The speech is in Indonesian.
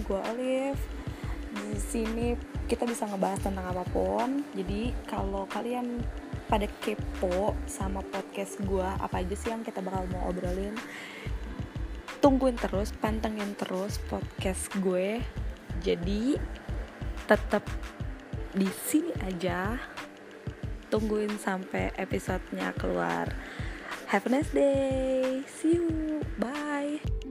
gue Olive. Di sini kita bisa ngebahas tentang apapun. Jadi kalau kalian pada kepo sama podcast gue, apa aja sih yang kita bakal mau obrolin, tungguin terus, pantengin terus podcast gue. Jadi tetap di sini aja, tungguin sampai episodenya keluar. Have a nice day, see you, bye.